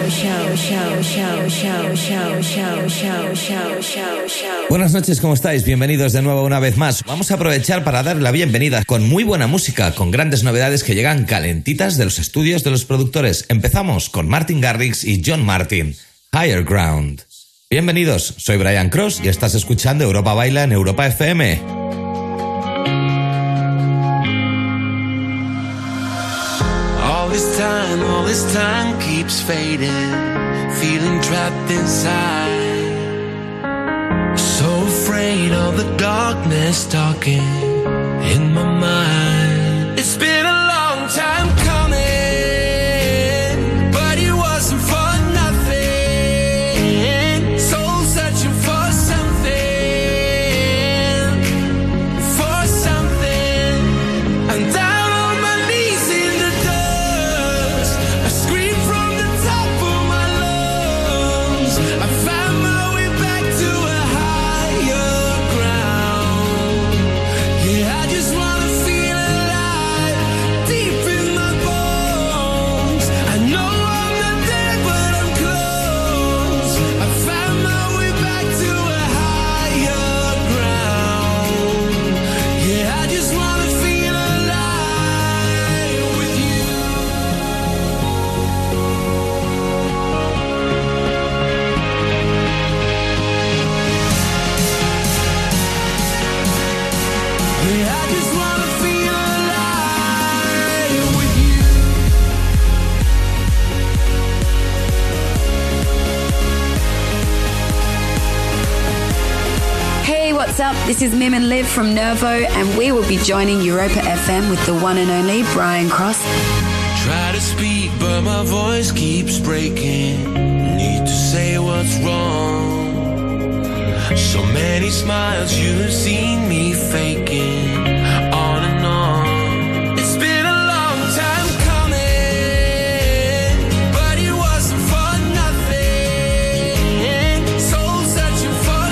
Buenas noches, ¿cómo estáis? Bienvenidos de nuevo una vez más. Vamos a aprovechar para dar la bienvenida con muy buena música, con grandes novedades que llegan calentitas de los estudios de los productores. Empezamos con Martin Garrix y John Martin, Higher Ground. Bienvenidos, soy Brian Cross y estás escuchando Europa Baila en Europa FM. All this time keeps fading, feeling trapped inside. So afraid of the darkness talking in my mind. It's been a long time coming, but it wasn't for nothing. Soul searching for something, and down on my knees in the dust, I scream from the top of my lungs. I found my way back to a higher ground. Yeah, I just wanna feel alive, deep in my bones. I know I'm not there, but I'm close. I found my way back to a higher ground. Yeah, I just wanna feel alive with you. Yeah, I just wanna feel alive with you. Hey, what's up? This is Mim and Liv from Nervo, and we will be joining Europa FM with the one and only Brian Cross. Try to speak, but my voice keeps breaking. Need to say what's wrong. So many smiles you've seen me faking, on and on. It's been a long time coming, but it wasn't for nothing. Soul searching for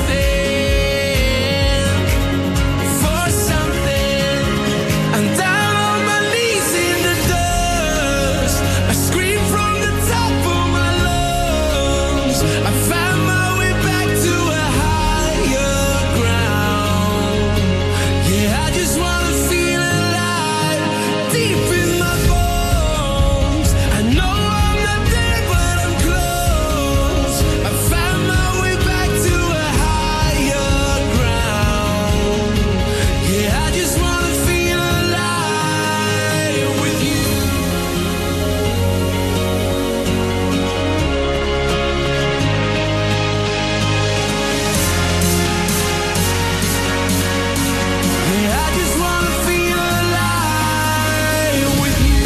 something, and down on my knees in the dust, I scream from the top of my lungs. I found my way back to a higher ground. Yeah, I just wanna feel alive, deep in my bones. I know I'm not there, but I'm close. I found my way back to a higher ground. Yeah, I just wanna feel alive with you. Yeah, I just wanna feel alive with you.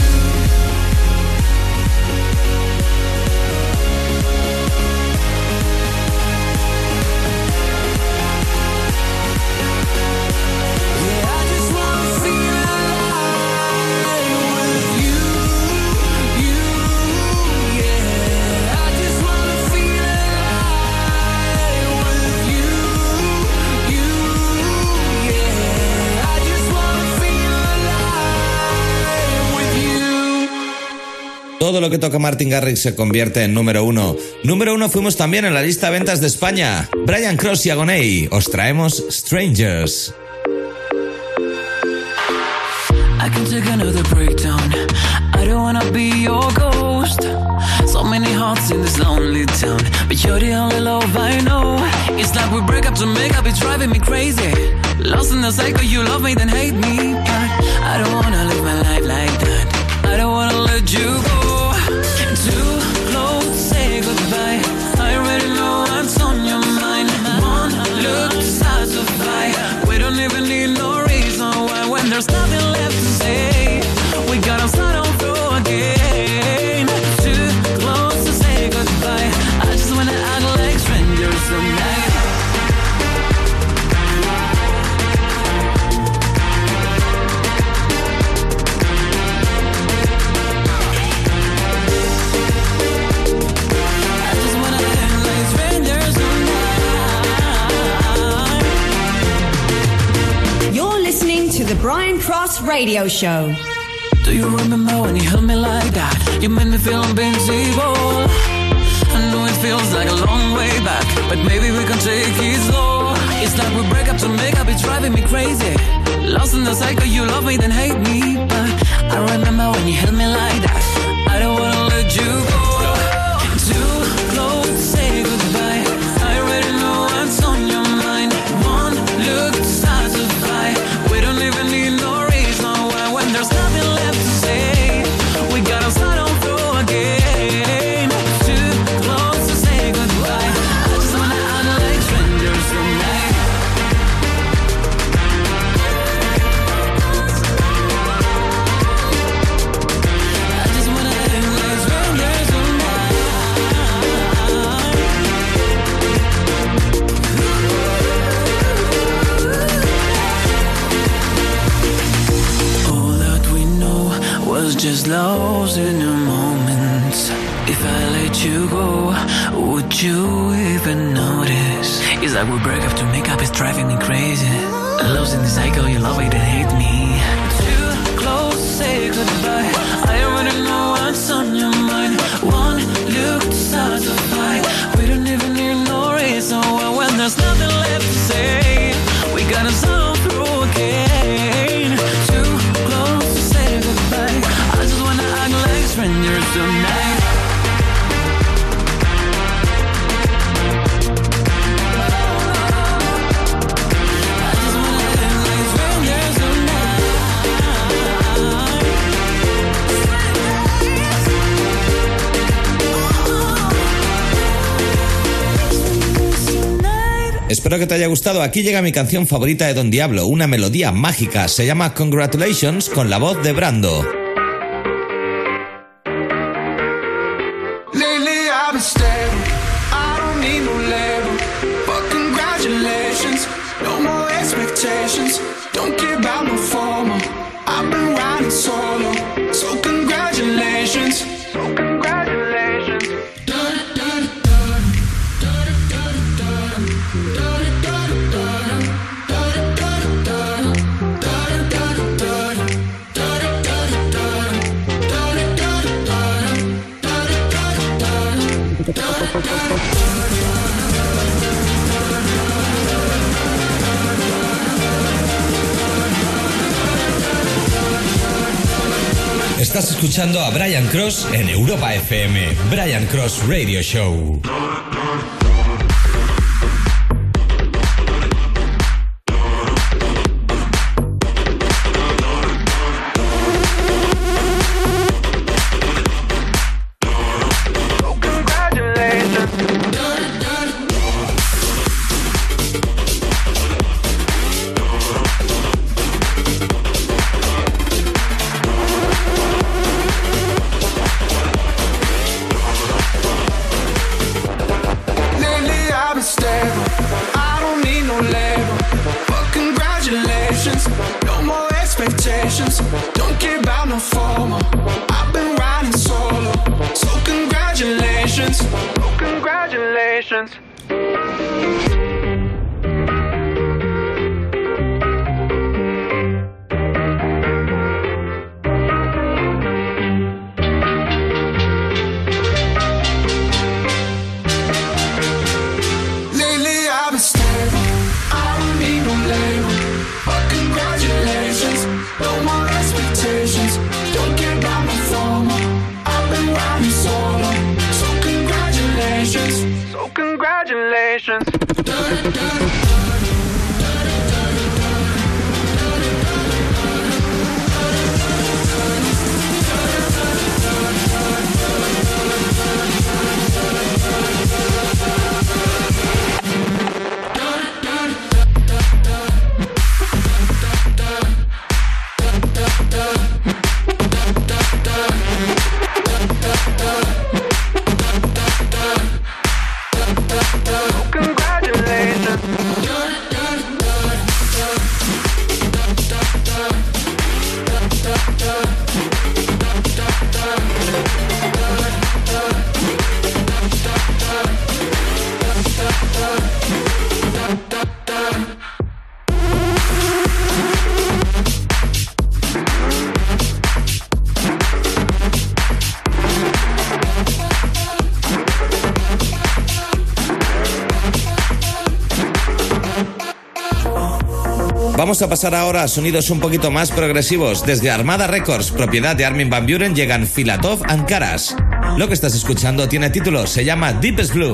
Yeah, I just wanna feel alive with you, yeah. I just wanna feel alive with you, yeah. I just wanna feel alive with you. Todo lo que toca Martin Garrix se convierte en número uno. Número uno fuimos también en la lista de ventas de España. Brian Cross y Agoney, os traemos Strangers. I can take another breakdown. I don't wanna be your ghost. So many hearts in this lonely town, but you're the only love I know. It's like we break up to make up, it's driving me crazy. Lost in the cycle, you love me then hate me, but I don't wanna live my life like that. I don't wanna let you go. Too close, say goodbye. I already know what's on your mind. One look to satisfy. We don't even need no reason why. When there's nothing left to say, we gotta start over again. Too close to say goodbye. I just wanna act like strangers tonight. You're listening to the Brian Cross Radio Show. Do you remember when you held me like that? You made me feel invincible. I know it feels like a long way back, but maybe we can take it slow. It's like we break up to make up, it's driving me crazy. Lost in the cycle, you love me then hate me, but I remember when you held me like that. I don't wanna let you go. Too close to say goodbye. I already know what's on your mind. One look to satisfy. We don't even need no reason why. When there's nothing left to say, we gotta start on through again. Too close to say goodbye. I just wanna act like strangers tonight. I just wanna act like strangers tonight. All that we know was just lost in a moment. If I let you go, would you even notice? It's like we break up to make up, it's driving me crazy. Lost in the cycle, you love it and hate me. Too close to say goodbye. I already know what's on your mind. One look to satisfy. We don't even need no reason why. When there's nothing left to say, we gotta solve through again. Too close to say goodbye. I just wanna act like strangers tonight. I just wanna act like strangers tonight. Espero que te haya gustado. Aquí llega mi canción favorita de Don Diablo, una melodía mágica. Se llama Congratulations con la voz de Brando. Lately I've been stable, I don't need no label. But congratulations, no more expectations. Don't care about my formal, I've been riding solo. So congratulations, so congratulations. Estás escuchando a Brian Cross en Europa FM. Brian Cross Radio Show. Lately I've been stable, I don't need no label. But congratulations, no more expectations. Don't care about no formal, I've been riding solo. So congratulations, so congratulations. Lately I've been stable, I don't need no label. But congratulations, no more expectations. Don't care about my formal, I've been riding solo. So congratulations, so congratulations. Congratulations. Vamos a pasar ahora a sonidos un poquito más progresivos. Desde Armada Records, propiedad de Armin van Buuren, llegan Filatov and Karas. Lo que estás escuchando tiene título, se llama Deepest Blue.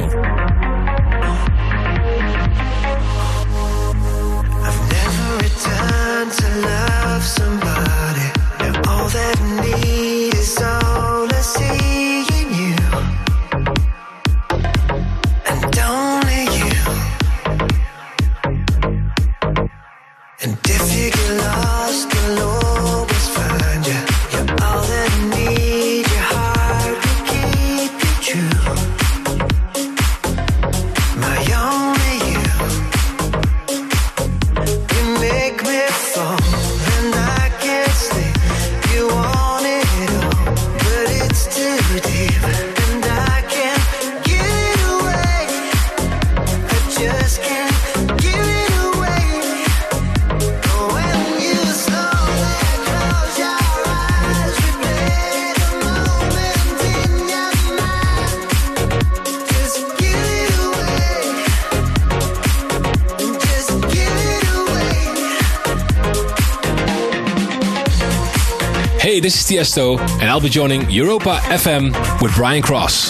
Hey, this is Tiesto, and I'll be joining Europa FM with Brian Cross.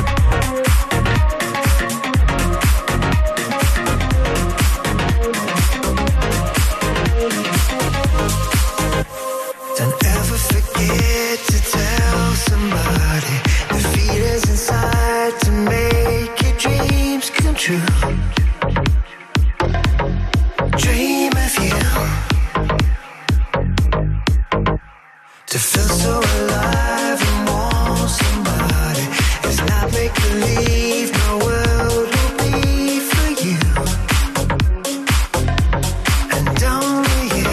Don't ever forget to tell somebody the feelings inside to make your dreams come true. Dream of you. To feel so alive and want somebody. It's not make believe, my world will be for you. And only you.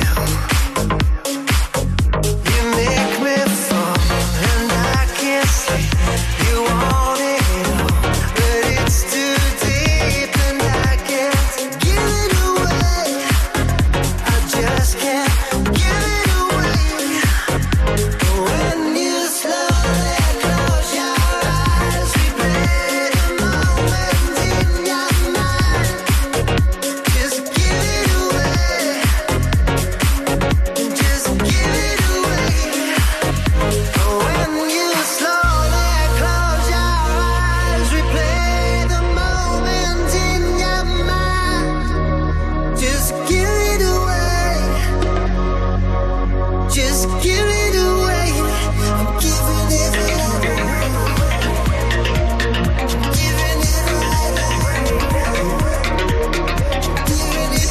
You make me fall and I can't sleep. You want it all, but it's too deep and I can't give it away. I just can't give it away. When you slowly close your eyes, replay the moment in your mind. Just give it away. Just give it away. When you slowly close your eyes, replay the moment in your mind. Just give it away. Just give it away. I'm giving it away. Giving it away. Giving it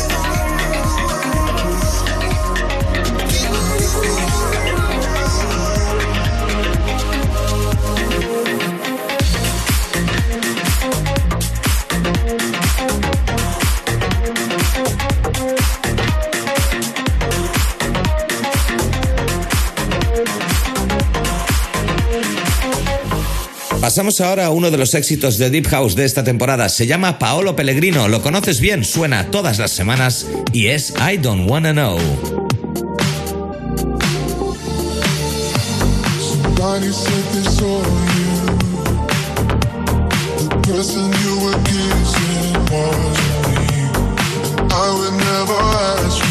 Pasamos ahora a uno de los éxitos de Deep House de esta temporada. Se llama Paolo Pellegrino. Lo conoces bien, suena todas las semanas y es I Don't Wanna Know. Somebody said this on you. The person you were kissing was me. I would never ask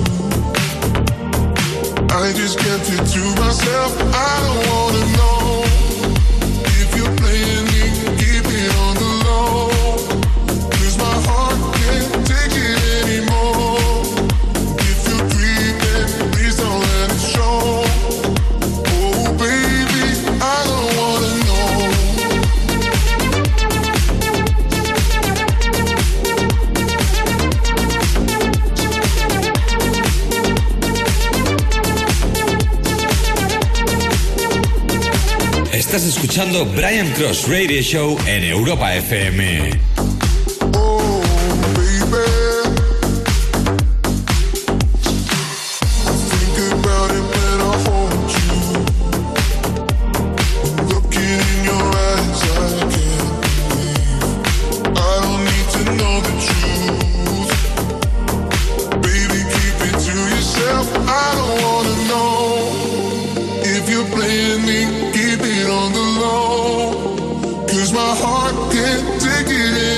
you. I just kept it to myself. I don't wanna know if you're playing me. Keep it on the low. 'Cause my heart can't take it anymore. If you're creeping, please don't let it show. Oh baby, I don't wanna know. Estás escuchando Brian Cross Radio Show en Europa FM. Oh baby, I think about it when I hold you. Looking in your eyes, I can't believe. I don't need to know the truth. Baby, keep it to yourself. I don't wanna know if you're playing me. Keep it on the low. 'Cause my heart can't take it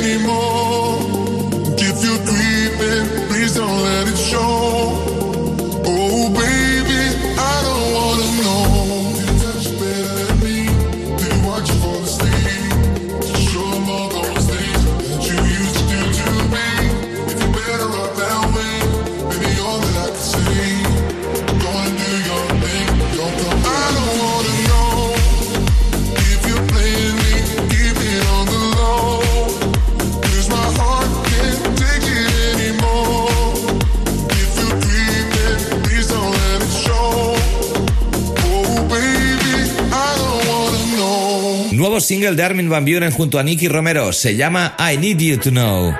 single de Armin van Buuren junto a Nicky Romero. Se llama I Need You to Know.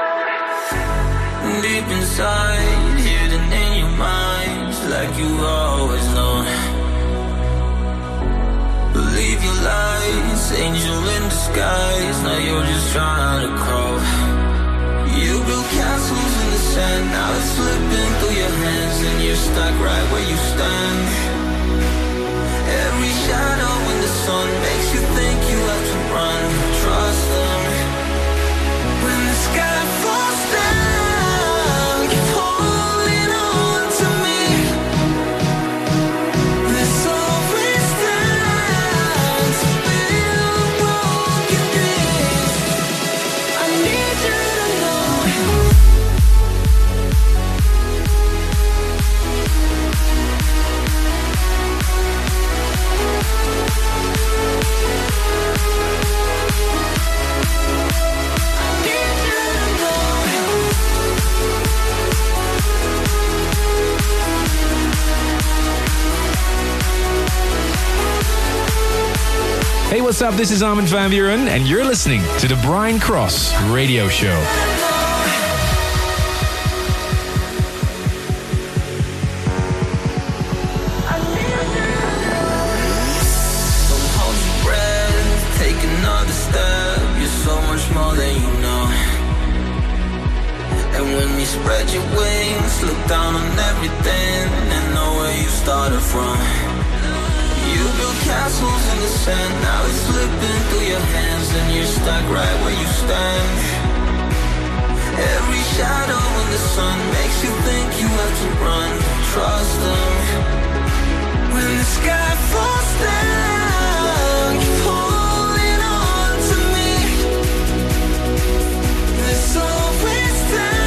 Deep inside, hidden in your mind, like you always known. Believe your lies, angel in disguise. Now you're just trying to crawl. You built castles in the sand, now it's slipping through your hands, and you're stuck right where you stand. Every shadow in the sun makes you think you have to run. Trust them. When the sky falls down, keep holding on to me. There's always time to build broken dreams. I need you to know. Hey, what's up? This is Armin van Buuren, and you're listening to the Brian Cross Radio Show. Spread your wings, look down on everything, and know where you started from. You built castles in the sand, now it's slipping through your hands, and you're stuck right where you stand. Every shadow in the sun makes you think you have to run. Trust them. When the sky falls down, keep holding on to me. There's always time.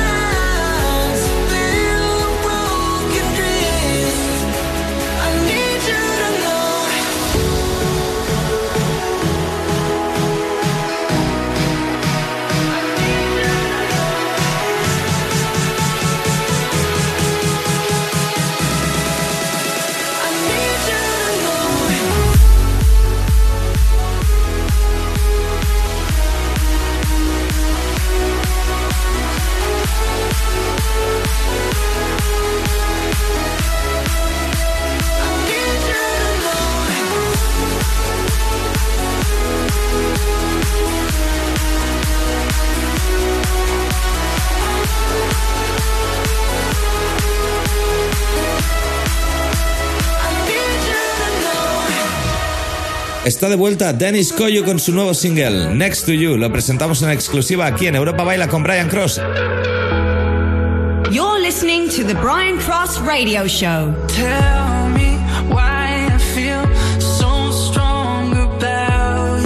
Está de vuelta Dennis Coyo con su nuevo single, Next to You. Lo presentamos en exclusiva aquí en Europa Baila con Brian Cross. You're listening to the Brian Cross Radio Show. Tell me why I feel so strong about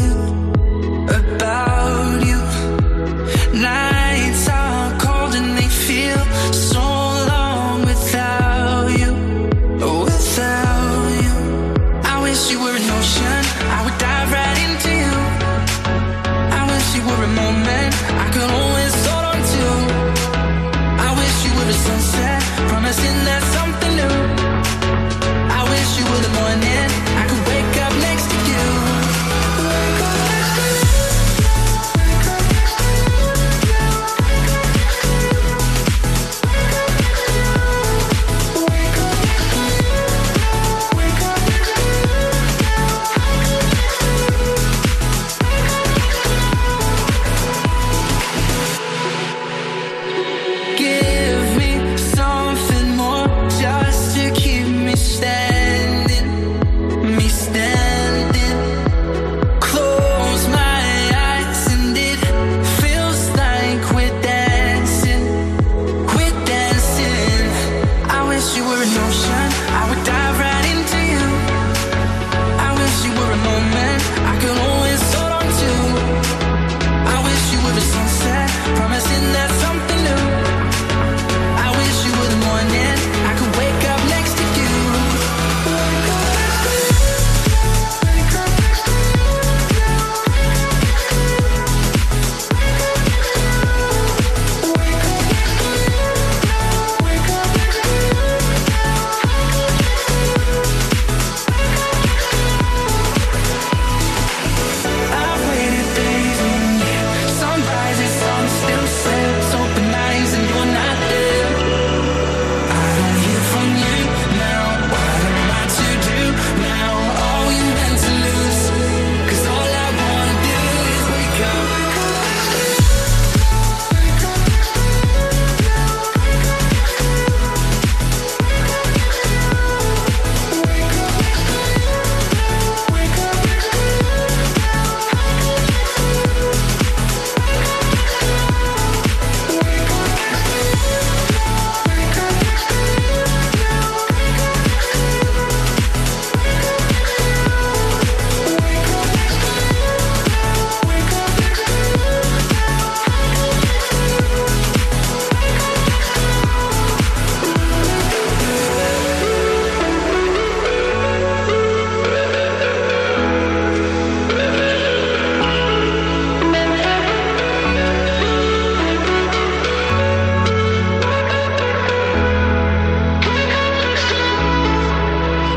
you. Nights are cold and they feel so long without you. I wish you were an ocean, I would dive right into you. I wish you were a moment I could always hold on to. I wish you were a sunset, promising that something new. I wish you were the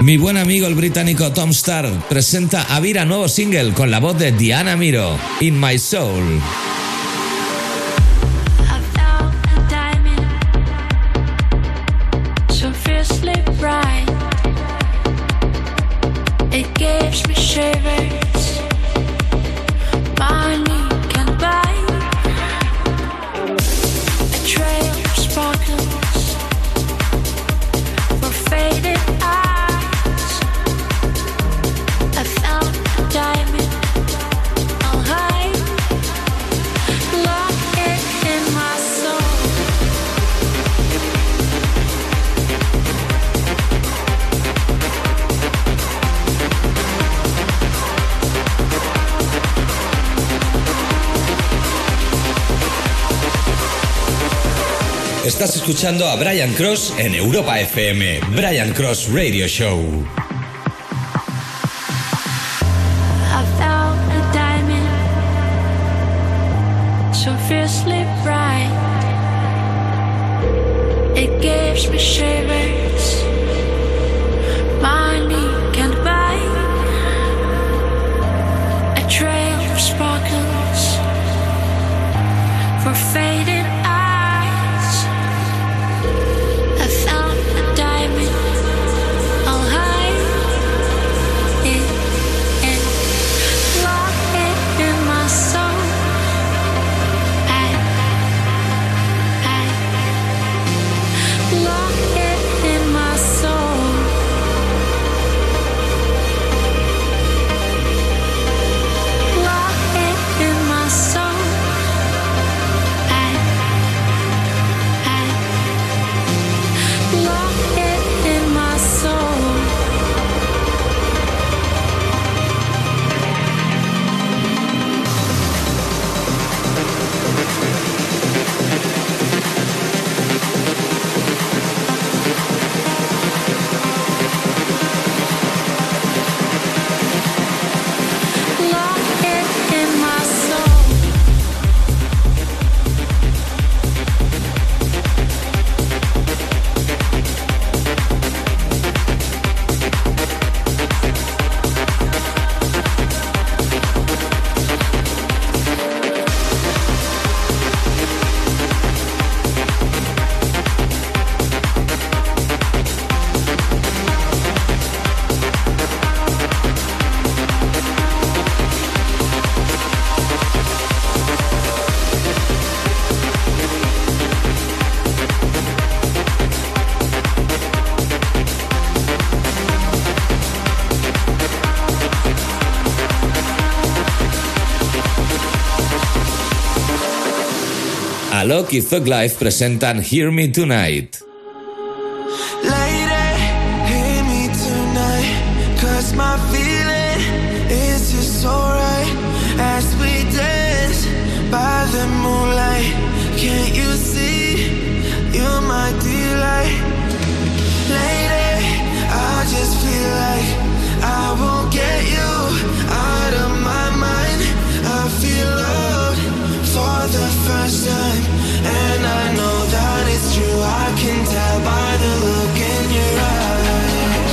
Mi buen amigo el británico Tom Starr presenta a Vira nuevo single con la voz de Diana Miro, In My Soul. Estás escuchando a Brian Cross en Europa FM, Brian Cross Radio Show. I found a diamond, so fiercely bright. It gives me shivers, money can't buy. A trail of sparkles for faded eyes. I found a diamond, I'll hide it and lock it in my soul. I lock it in my soul. Lock it in my soul. Lock it in my soul. Lock it in my soul. Alok y Thug Life presentan Hear Me Tonight. Lady, hear me tonight, 'cause my feeling is just alright. As we dance by the moonlight, can't you see, you're my delight. Lady, I just feel like I won't get you out of my mind. I feel loved for the first time, and I know that it's true. I can tell by the look in your eyes.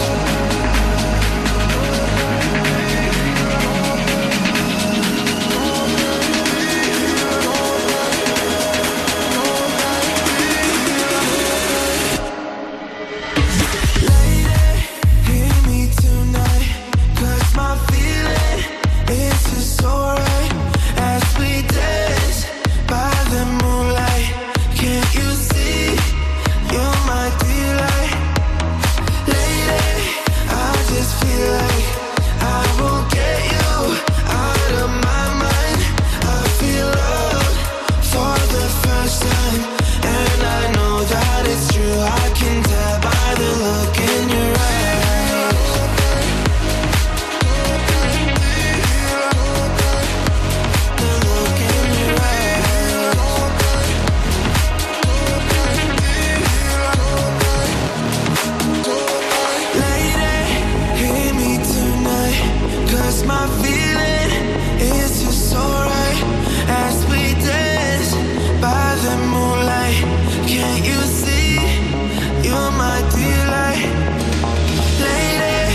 Lady, hear me tonight, 'cause my feeling is just alright. As we dance by the moonlight, can't you see, you're my delight. Lady, I just feel like I won't get you out of my mind. I feel loved for the first time, and I know that it's true. I can tell by the look in your eyes. The look in your eyes. Lady, hear me tonight, 'cause my feeling is just alright. As we dance by the moonlight, can't you see, you're my delight. Lady,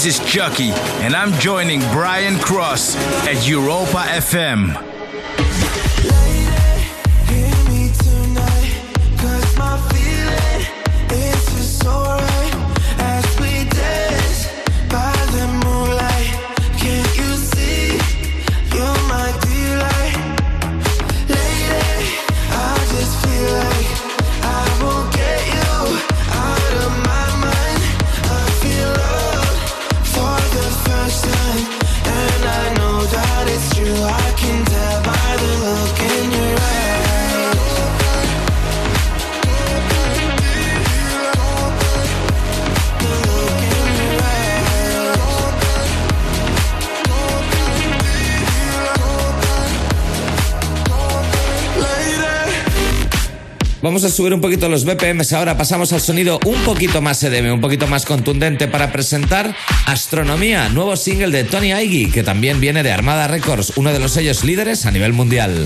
This is Chucky, and I'm joining Brian Cross at Europa FM. Vamos a subir un poquito los BPMs ahora, pasamos al sonido un poquito más EDM, un poquito más contundente para presentar Astronomía, nuevo single de Tony Aiggy, que también viene de Armada Records, uno de los sellos líderes a nivel mundial.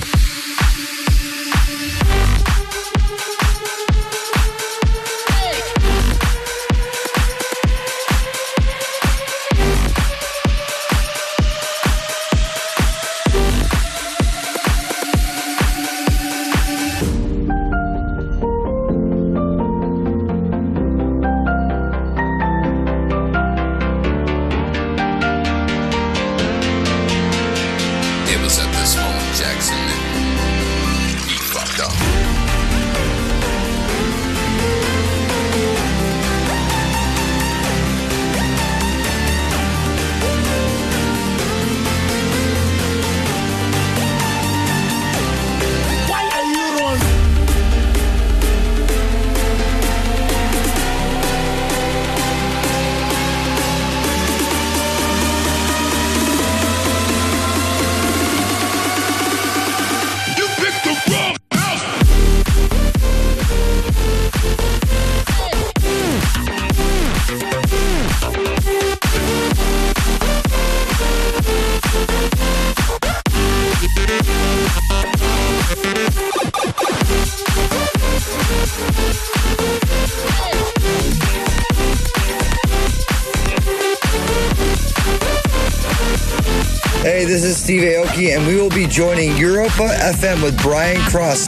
Hey, this is Steve Aoki, and we will be joining Europa FM with Brian Cross.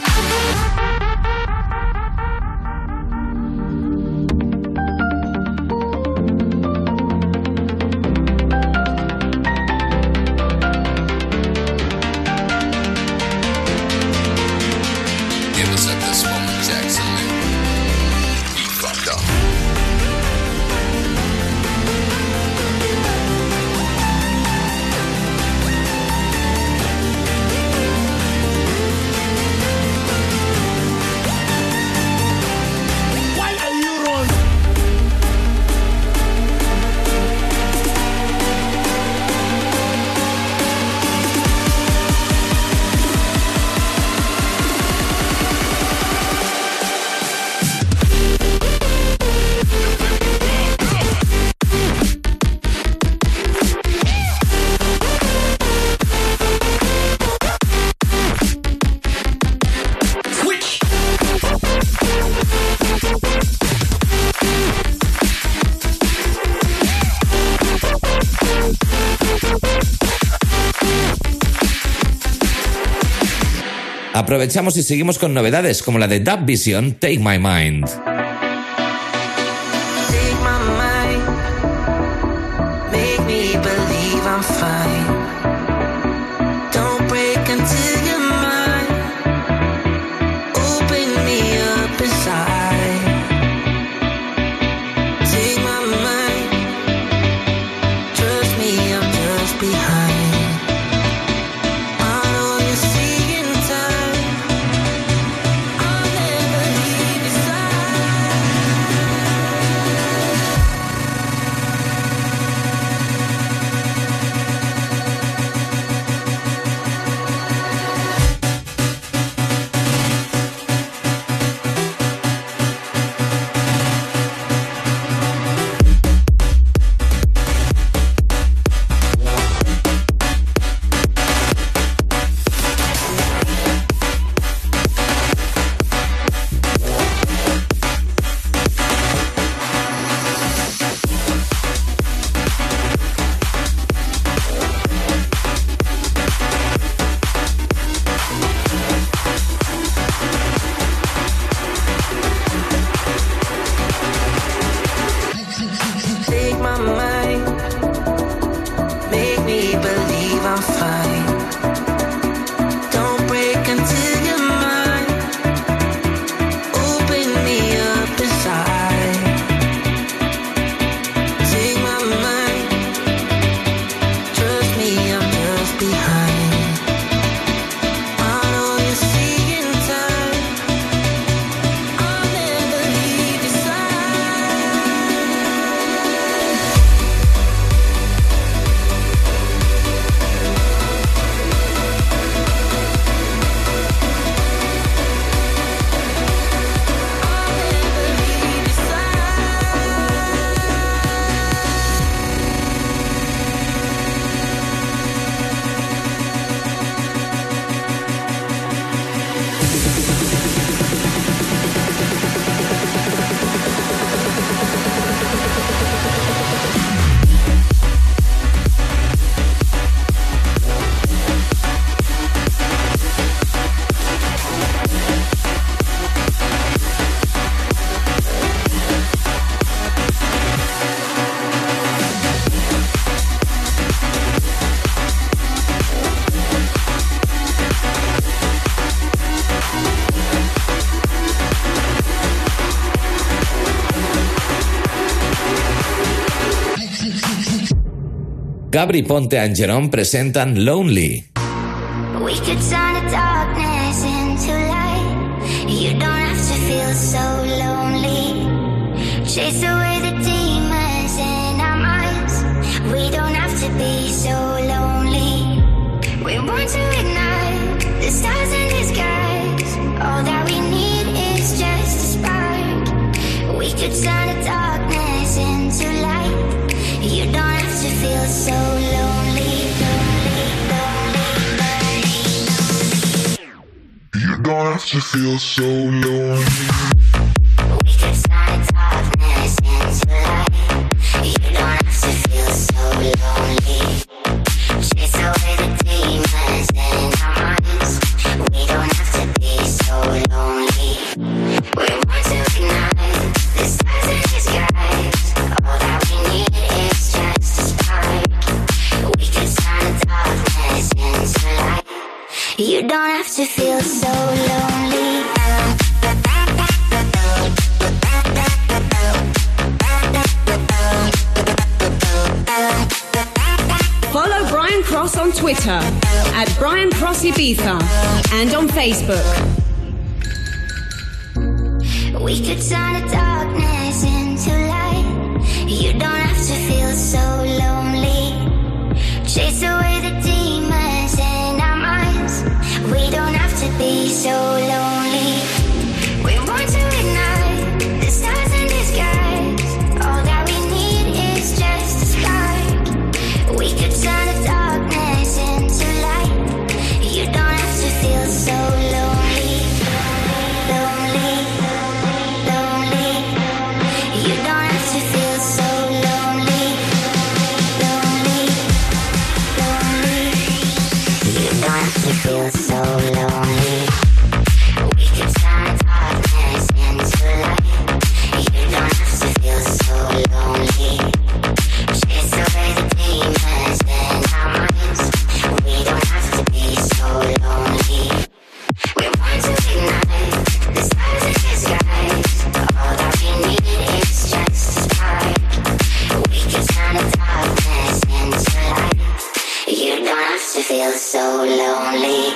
Aprovechamos y seguimos con novedades como la de Dub Vision, Take My Mind. Take my mind, make me believe I'm fine. Don't break until you're mine. Open me up inside. Take my mind, trust me, I'm just behind. Gabri Ponte and Jerome presentan Lonely. We could turn the darkness into light. You don't have to feel so lonely. Chase away the demons in our minds. We don't have to be so lonely. We're born to ignite the stars in the skies. All that we need is just a spark. We could turn the darkness into light. You don't have to feel so lonely. You don't have to feel so lonely. We could turn the darkness into light. You don't have to feel so lonely. Chase away the demons in our minds. We don't have to be so lonely. We're born to ignite the stars in the skies. All that we need is just a spark. We could turn the darkness into light. You don't have to feel so lonely. Follow Brian Cross on Twitter at Brian Cross Ibiza and on Facebook. We could turn the darkness into light. You don't have to feel so lonely. Chase away the demons in our minds. We don't have to be so lonely. We're born to ignite the stars in the skies. All that we need is just a spark. We could turn the darkness into light. You don't have to feel so lonely. Lonely, lonely. You don't have to feel so lonely. Lonely, lonely. You don't have to feel so lonely. We could turn the darkness into light. You don't have to feel so lonely. Chase away the demons in our minds. We don't have to be so lonely. We're born to ignite the stars in the skies. All that we need is just a spark. We can turn the darkness into light. You don't have to feel so lonely.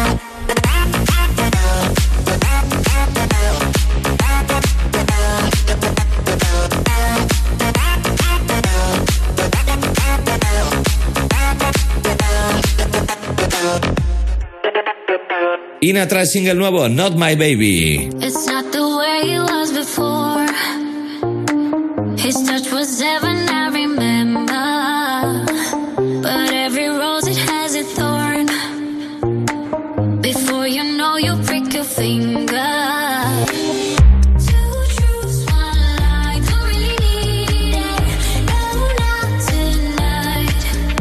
Ina trae single nuevo, Not My Baby. It's not the way it was before. His touch was heaven, I remember. But every rose, it has a thorn. Before you know, you prick your finger. Two truths, one lie. Don't really need it. No, not tonight.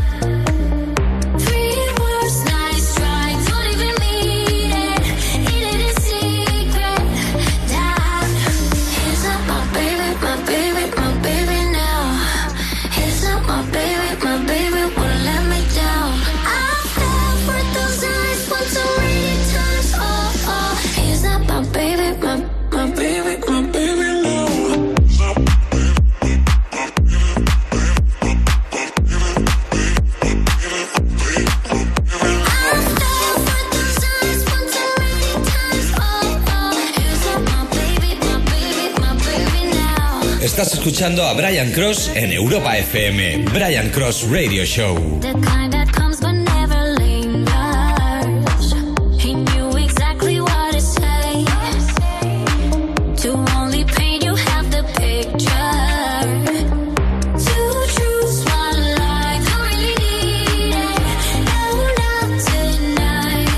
Three words, nice try. Don't even mean it. Eat it in secret. That he's not my baby, my baby, my baby now. He's not my baby won't let me down. I fell for those eyes once so many times. Oh, oh, he's not my baby, my baby, my baby now. Estás escuchando a Brian Cross en Europa FM. Brian Cross Radio Show. The kind that comes but never lingers. He knew exactly what to say. To only paint you half the picture. Two truths, one lie. Don't really need it. No, not tonight.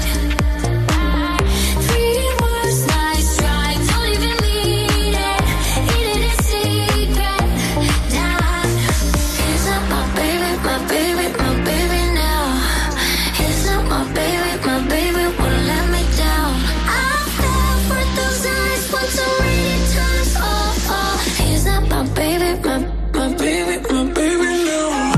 Three words, nice try. Don't even mean it. Eat it in secret. That he's not my baby, my baby now. He's not my baby won't let me down. I fell for those eyes once so many times. Oh, oh, he's not my baby, my baby now.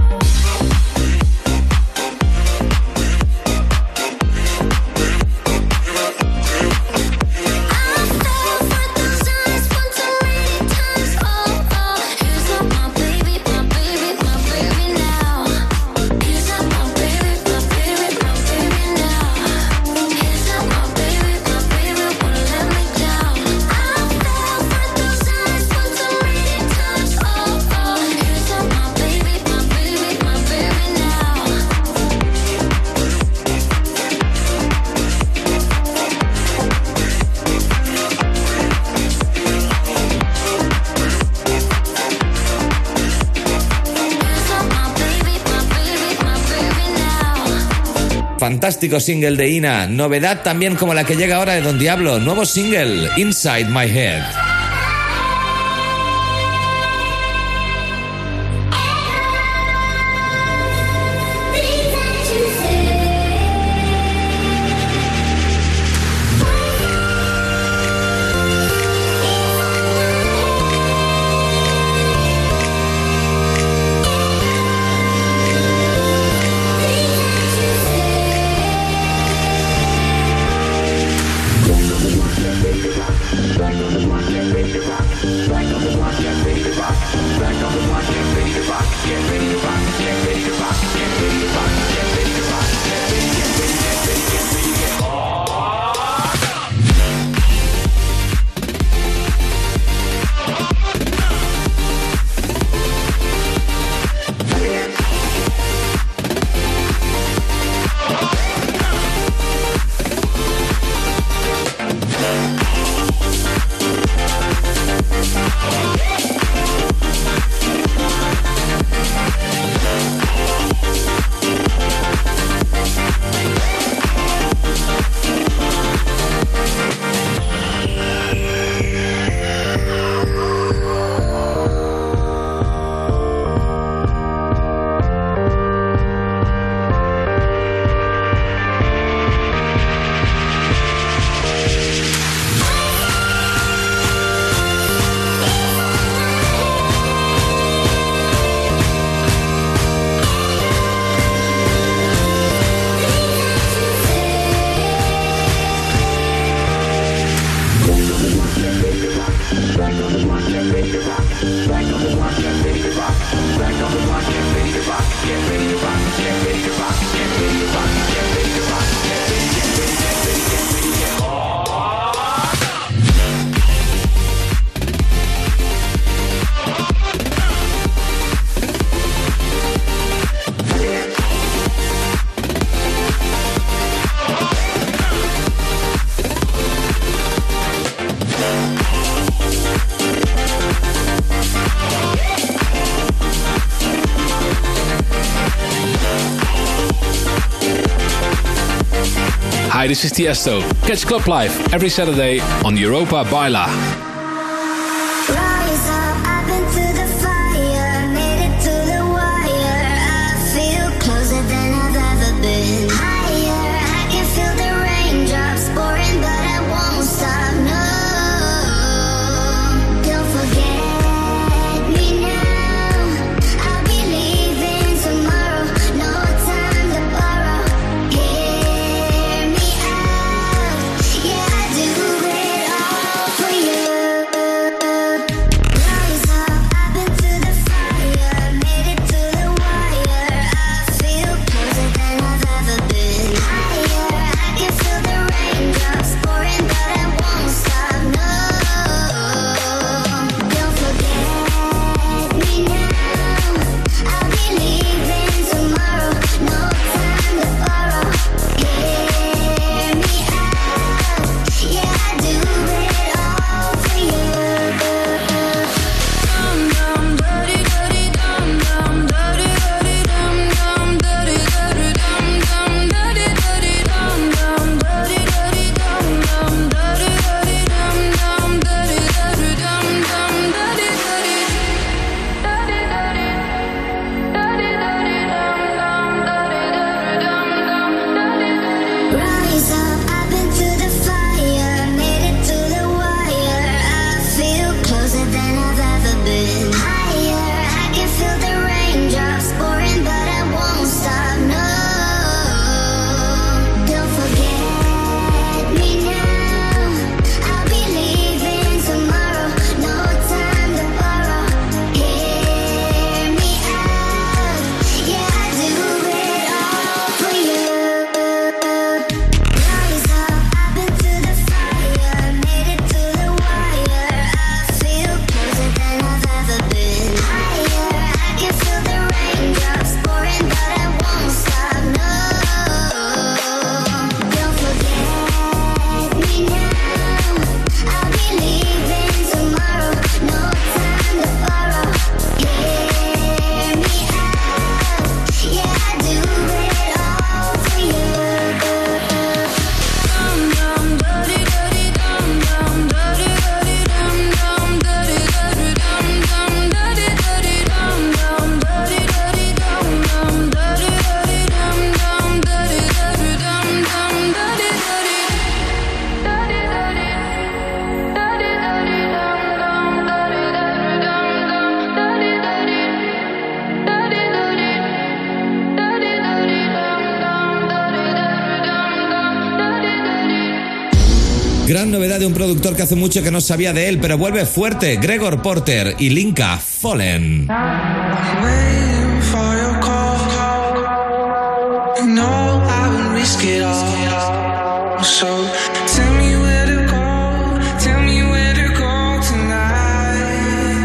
Fantástico single de Ina, novedad también como la que llega ahora de Don Diablo, nuevo single, Inside My Head. Hi, this is Tiesto. Catch Club Live every Saturday on Europa Baila. Rise up, I've been through the fire, made it to the wire. I feel closer than I've ever been. Higher, I can feel the raindrops pouring, but I won't stop. No, don't forget me now. I'll be leaving tomorrow. No time to borrow. Hear me out. Yeah, I do it all for you. Gran novedad de un productor que hace mucho que no sabía de él, pero vuelve fuerte. Gregor Porter y Linka, Fallen. Waiting for your call. No, I won't risk it all. So tell me where to go. Tell me where to go tonight.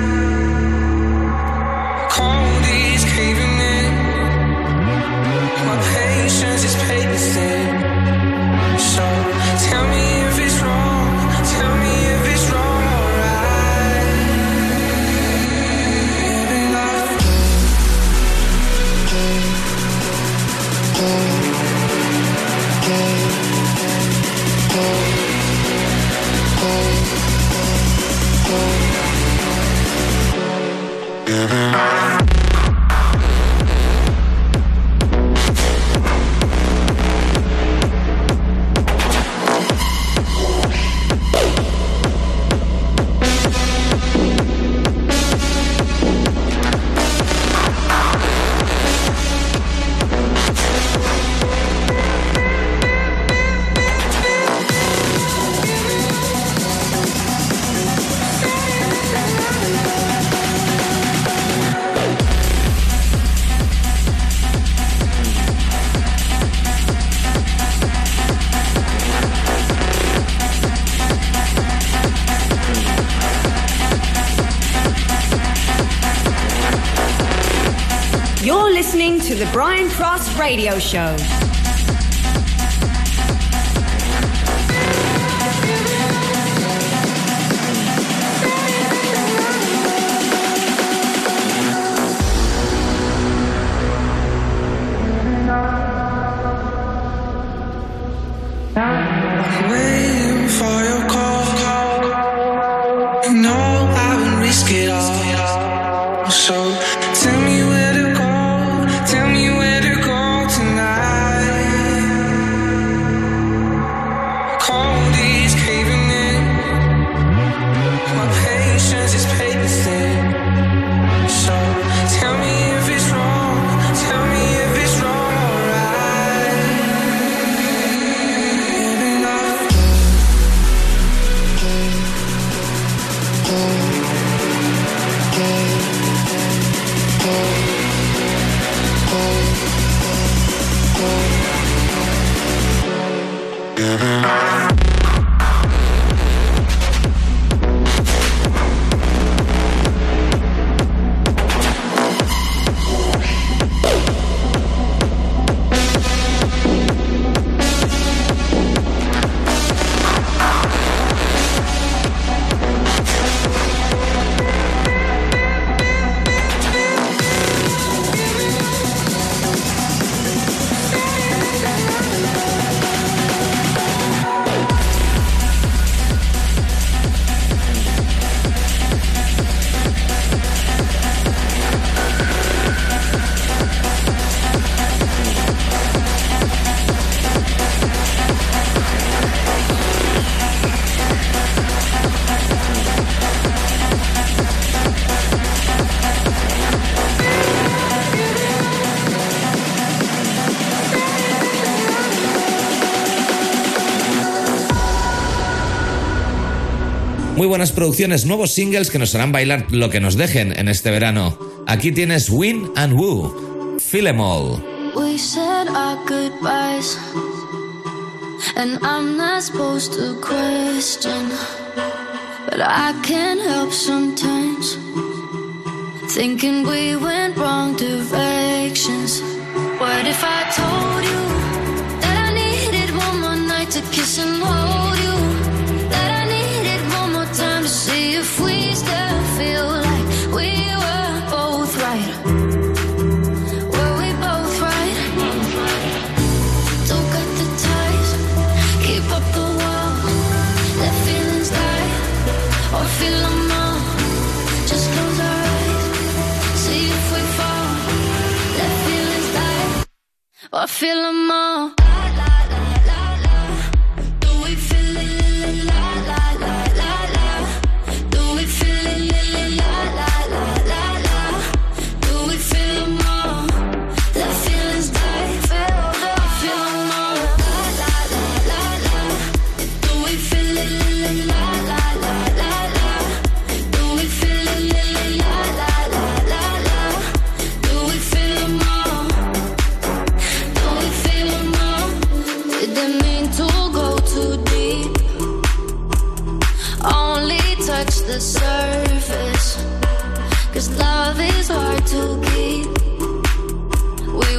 Cold is caving in. My patience is paper thin. So tell me if it's wrong. Tell me if it's wrong. Alright. Living life. You're listening to the Brian Cross Radio Show. Waiting for your call. No, I won't risk it all. So tell me where to go. Tell me where to go tonight. Cold is caving in. My patience is paper thin. So tell me if it's wrong. Tell me if it's wrong. Alright. Living life. Muy buenas producciones, nuevos singles que nos harán bailar lo que nos dejen en este verano. Aquí tienes Win and Woo, Feel 'Em All. We said our goodbyes, and I'm not supposed to question, but I can't help sometimes thinking we went wrong directions. What if I told you that I needed one more night to kiss and hold you? That I needed one more time to see if we still feel like we were both right. Were we both right? Don't cut the ties, keep up the wall. Let feelings die, or feel them all. Just close our eyes, see if we fall. Let feelings die, or feel them all. Do we feel it? La la la la la. Do we feel it? La la la la la. Do we feel them all? Let feelings die, feel them all. La la la la la. Do we feel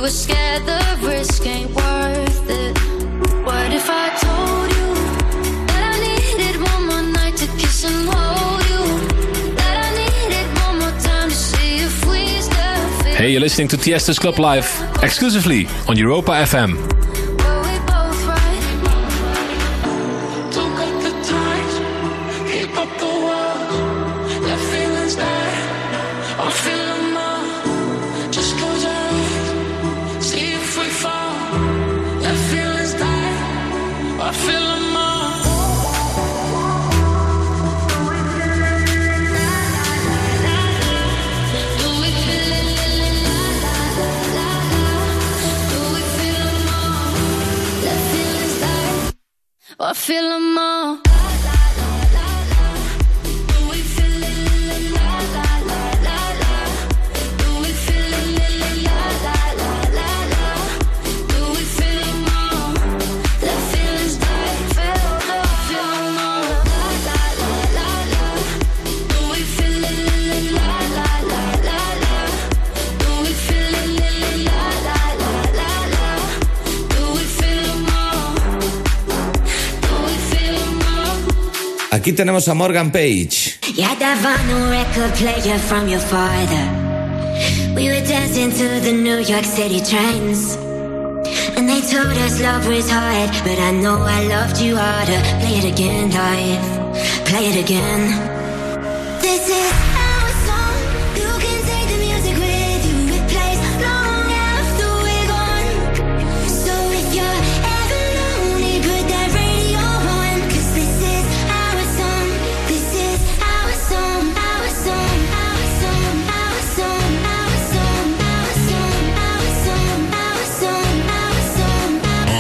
were scared the risk ain't worth it. What if I told you that I needed one more night to kiss and hold you? That I needed one more time to see if we still fit. Hey, you're listening to Tiesto's Club Live, exclusively on Europa FM. I feel them all. Aquí tenemos a Morgan Page. You had that vinyl record player from your father. We were dancing to the New York City trains, and they told us love was hard, but I know I loved you harder. Play it again, live, play it again. This is our song. You can take the music with you. It plays long after we're gone. So if you're ever lonely, put that radio on, 'cause this is our song. This is our song. Our song. Our song. Our song. Our song. Our song. Our song. Our song. Our song.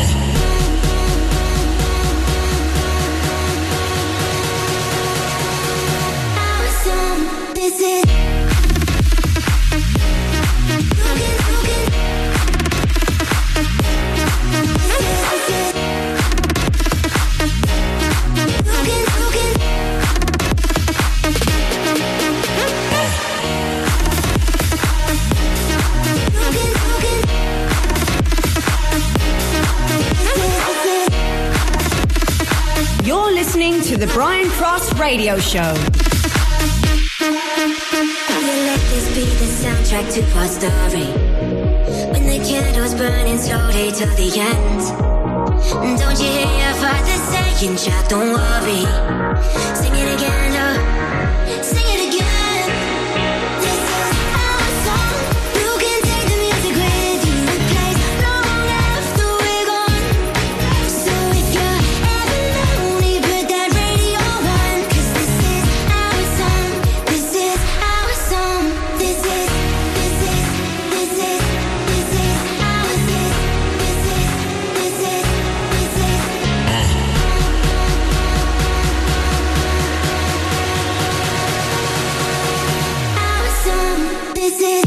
Our song. This is. You're listening to the Brian Cross Radio Show. Let this be the soundtrack to our story. When the candles burning slowly to the end. Don't you hear your father saying, child, don't worry. Sing it again, oh, sing it again. This is our song. You can take the music with you. It plays long after we're gone. So if you're ever lonely, put that radio on, 'cause this is our song. This is our song. This is our song. This is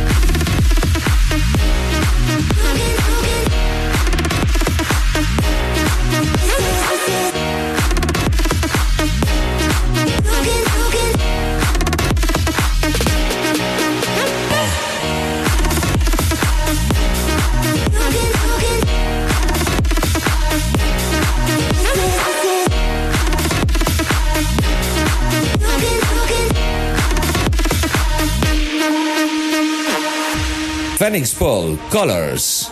Phoenix Paul, Colors.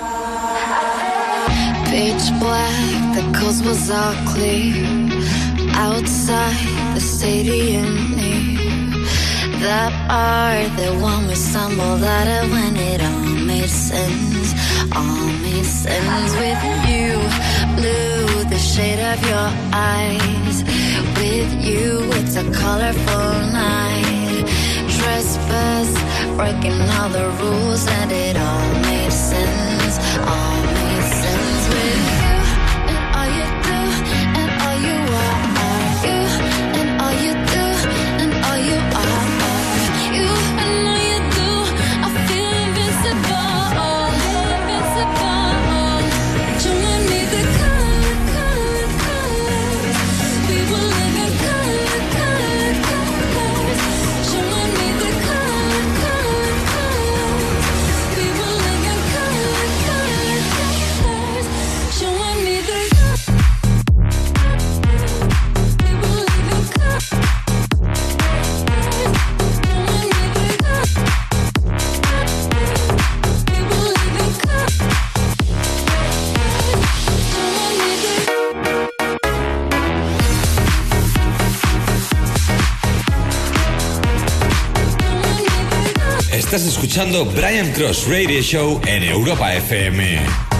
Pitch black, the coast was all clear. Outside the stadium near that bar, the one we stumbled out of when it all made sense. All made sense with you. Blue, the shade of your eyes. With you, it's a colorful night. Trespass, breaking all the rules, and it all made sense. All made sense with you. And all you do, and all you are you. And all you do, and all you are you. And all you do, I feel invincible. Invincible. You and me, the colors. We will live in colors. You and me, the colors. We will live Estás escuchando Brian Cross Radio Show en Europa FM.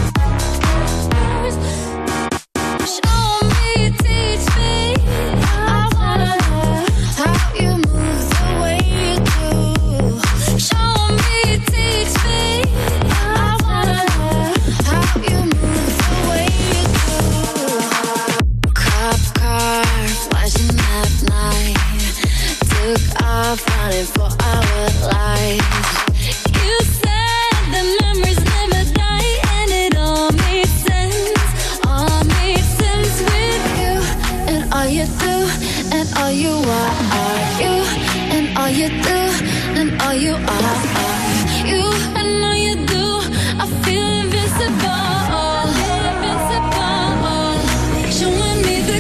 Running for our lives. You said the memories never die, and it all makes sense. All makes sense with you, and all you do, and all you are you, and all you do, and all you are you, and all you do. I feel invincible. Showing me the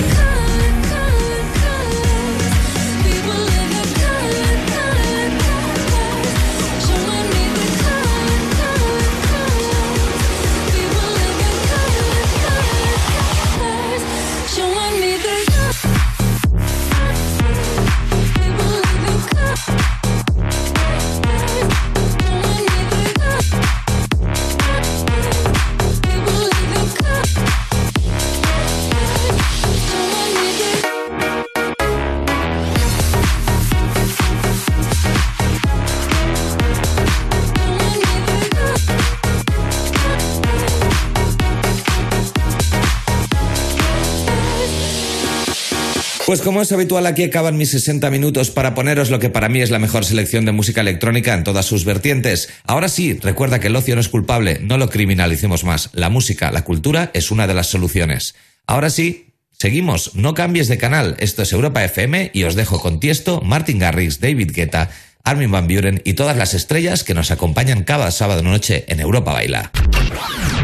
Pues como es habitual, aquí acaban mis 60 minutos para poneros lo que para mí es la mejor selección de música electrónica en todas sus vertientes. Ahora sí, recuerda que el ocio no es culpable, no lo criminalicemos más. La música, la cultura es una de las soluciones. Ahora sí, seguimos, no cambies de canal. Esto es Europa FM y os dejo con Tiesto, Martin Garrix, David Guetta, Armin van Buuren y todas las estrellas que nos acompañan cada sábado noche en Europa Baila.